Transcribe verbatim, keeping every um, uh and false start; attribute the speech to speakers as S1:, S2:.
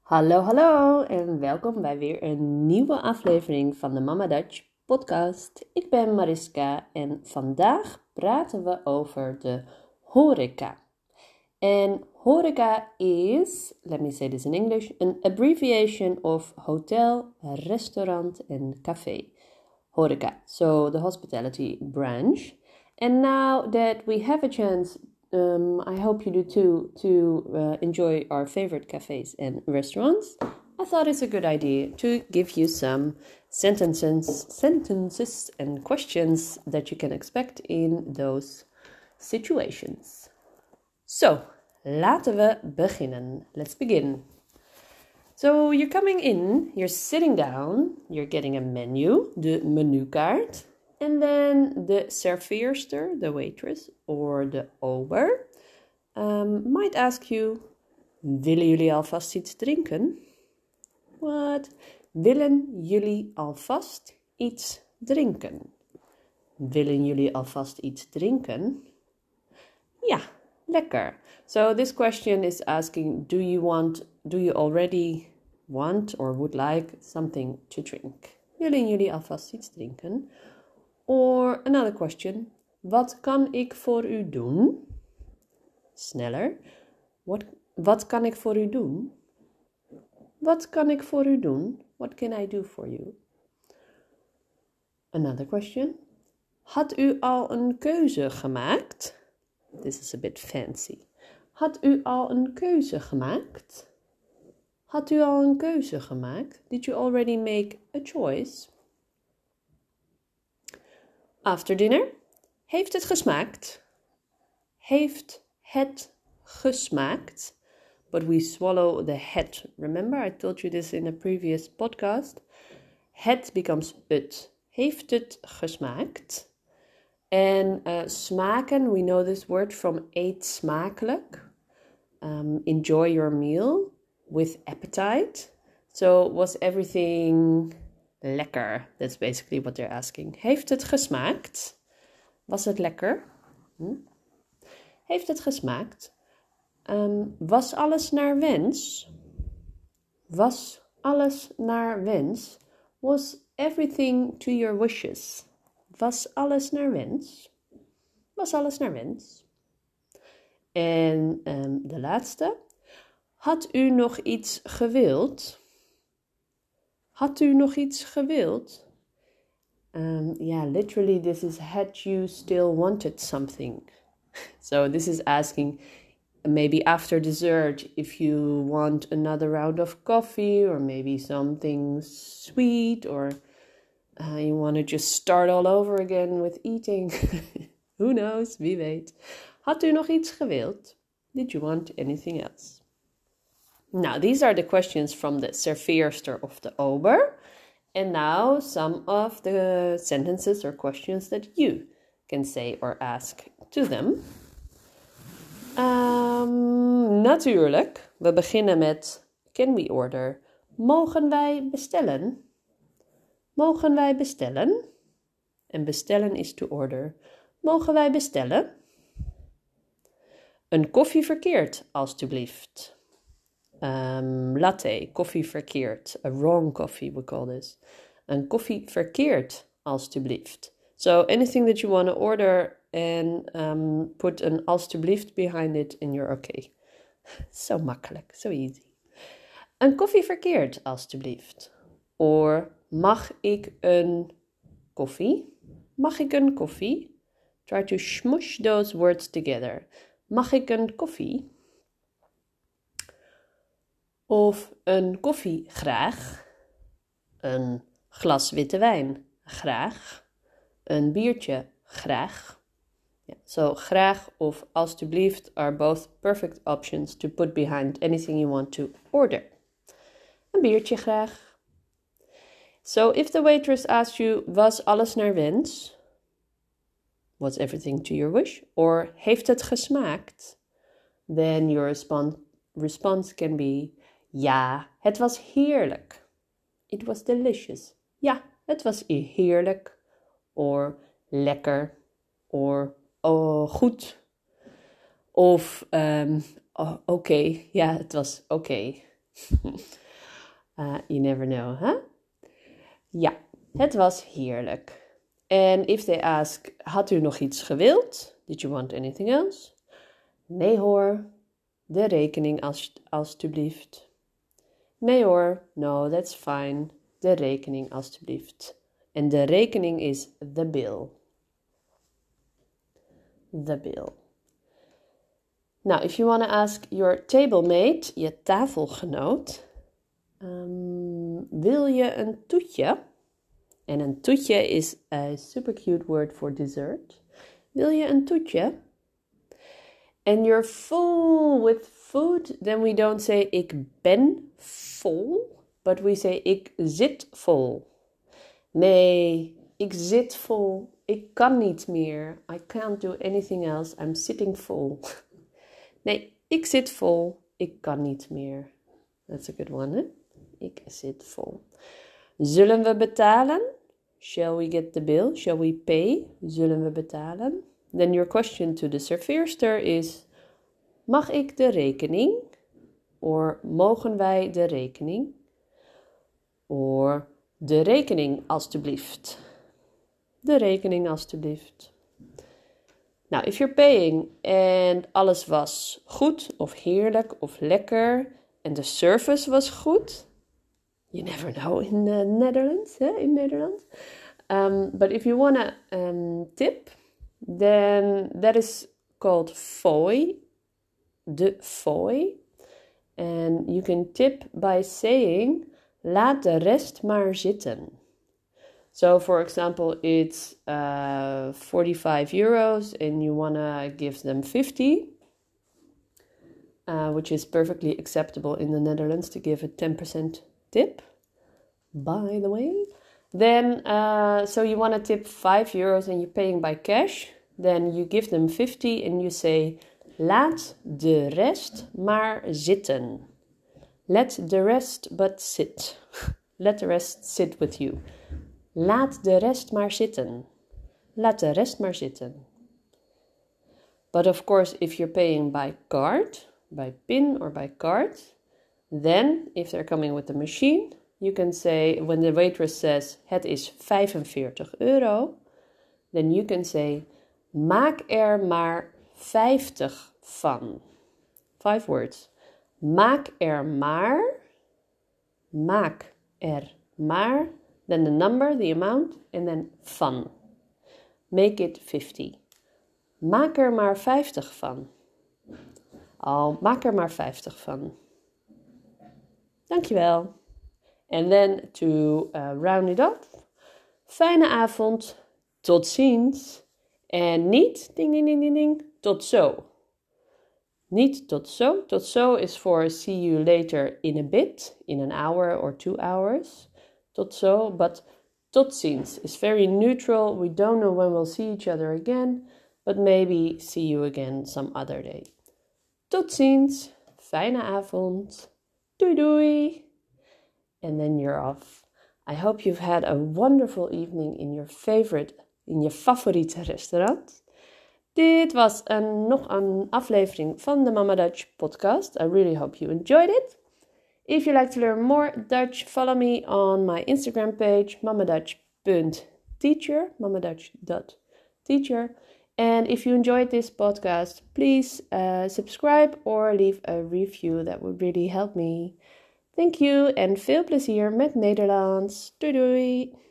S1: Hallo, hallo en welkom bij weer een nieuwe aflevering van de Mama Dutch podcast. Ik ben Mariska en vandaag praten we over de horeca. En horeca is, let me say this in English, an abbreviation of hotel, restaurant and café. Horeca, so the hospitality branch. And now that we have a chance, um, I hope you do too, to uh, enjoy our favorite cafes and restaurants, I thought it's a good idea to give you some sentences, sentences and questions that you can expect in those situations. So, laten we beginnen. Let's begin. So, you're coming in, you're sitting down, you're getting a menu, de menukaart. And then the serveerster, the waitress, or the ober, um, might ask you, willen jullie alvast iets drinken? What? Willen jullie alvast iets drinken? Willen jullie alvast iets drinken? Ja, lekker. So this question is asking, do you want, do you already want or would like something to drink? Willen jullie alvast iets drinken? Or another question, wat kan ik voor u doen? Sneller. What, wat kan ik voor u doen? Wat kan ik voor u doen? What can I do for you? Another question. Had u al een keuze gemaakt? This is a bit fancy. Had u al een keuze gemaakt? Had u al een keuze gemaakt? Did you already make a choice? After dinner. Heeft het gesmaakt? Heeft het gesmaakt? But we swallow the het. Remember, I told you this in a previous podcast. Het becomes het. Heeft het gesmaakt? En uh, smaken, we know this word from eet smakelijk. Um, enjoy your meal with appetite. So was everything lekker? That's basically what they're asking. Heeft het gesmaakt? Was het lekker? Hm? Heeft het gesmaakt? Um, was alles naar wens? Was alles naar wens? Was everything to your wishes? Was alles naar wens? Was alles naar wens? En um, de laatste. Had u nog iets gewild? Had u nog iets gewild? Um, yeah, literally this is had you still wanted something. So this is asking maybe after dessert if you want another round of coffee or maybe something sweet or uh, you want to just start all over again with eating. Who knows, wie weet. Had u nog iets gewild? Did you want anything else? Now, these are the questions from the serveerster of the ober. And now some of the sentences or questions that you can say or ask to them. Um, natuurlijk, we beginnen met can we order? Mogen wij bestellen? Mogen wij bestellen? En bestellen is to order. Mogen wij bestellen? Een koffie verkeerd, alstublieft. Um, latte, koffie verkeerd. A wrong coffee, we call this. Een koffie verkeerd, alstublieft. So anything that you want to order and um, put an alstublieft behind it and you're okay. Zo makkelijk, so easy. Een koffie verkeerd, alstublieft. Or mag ik een koffie? Mag ik een koffie? Try to smush those words together. Mag ik een koffie? Of een koffie graag. Een glas witte wijn graag. Een biertje graag. Yeah, so graag of alstublieft are both perfect options to put behind anything you want to order. Een biertje graag. So if the waitress asks you, was alles naar wens? Was everything to your wish? Or heeft het gesmaakt? Then your response, response can be, ja, het was heerlijk. It was delicious. Ja, het was heerlijk. Or lekker. Or oh, goed. Of um, oh, oké. Okay. Ja, het was oké. Okay. uh, you never know, huh? Ja, het was heerlijk. And if they ask, had u nog iets gewild? Did you want anything else? Nee hoor, de rekening als, alstublieft. Nee hoor, no, that's fine. De rekening alstublieft. En de rekening is the bill. The bill. Now, if you want to ask your table mate, je tafelgenoot, um, wil je een toetje? En een toetje is a super cute word for dessert. Wil je een toetje? And you're full with food, then we don't say ik ben vol, but we say ik zit vol. Nee, ik zit vol. Ik kan niet meer. I can't do anything else. I'm sitting full. Nee, ik zit vol. Ik kan niet meer. That's a good one, hè? Ik zit vol. Zullen we betalen? Shall we get the bill? Shall we pay? Zullen we betalen? Then your question to the serveerster is, mag ik de rekening? Or mogen wij de rekening? Or de rekening alstublieft. De rekening alstublieft. Nou, if you're paying and alles was goed of heerlijk of lekker en de service was goed, you never know in the Netherlands, hè, in Nederland. Um, but if you want to um, tip, then that is called fooi, de fooi. And you can tip by saying, laat de rest maar zitten. So, for example, it's uh, forty-five euros and you want to give them fifty, uh, which is perfectly acceptable in the Netherlands to give a ten percent tip, by the way. Then, uh, so you want to tip five euros and you're paying by cash. Then you give them fifty and you say, laat de rest maar zitten. Let the rest but sit. Let the rest sit with you. Laat de rest maar zitten. Laat de rest maar zitten. But of course, if you're paying by card, by PIN or by card, then if they're coming with the machine, you can say, when the waitress says, het is vijfenveertig euro, then you can say, maak er maar vijftig van. Five words. Maak er maar, maak er maar, then the number, the amount, and then van. Make it fifty. Maak er maar vijftig van. Oh, maak er maar vijftig van. Dankjewel. And then to uh, round it off, fijne avond, tot ziens. En niet, ding, ding, ding, ding, ding, tot zo. Niet tot zo. Tot zo is for see you later in a bit, in an hour or two hours. Tot zo, but tot ziens is very neutral. We don't know when we'll see each other again, but maybe see you again some other day. Tot ziens, fijne avond, doei doei. And then you're off. I hope you've had a wonderful evening in your favorite, in je favoriete restaurant. Dit was een, nog een aflevering van de Mama Dutch podcast. I really hope you enjoyed it. If you'd like to learn more Dutch, follow me on my Instagram page, mamadutch dot teacher, mamadutch dot teacher. And if you enjoyed this podcast, please uh, subscribe or leave a review. That would really help me. Thank you en veel plezier met Nederlands. Doei doei!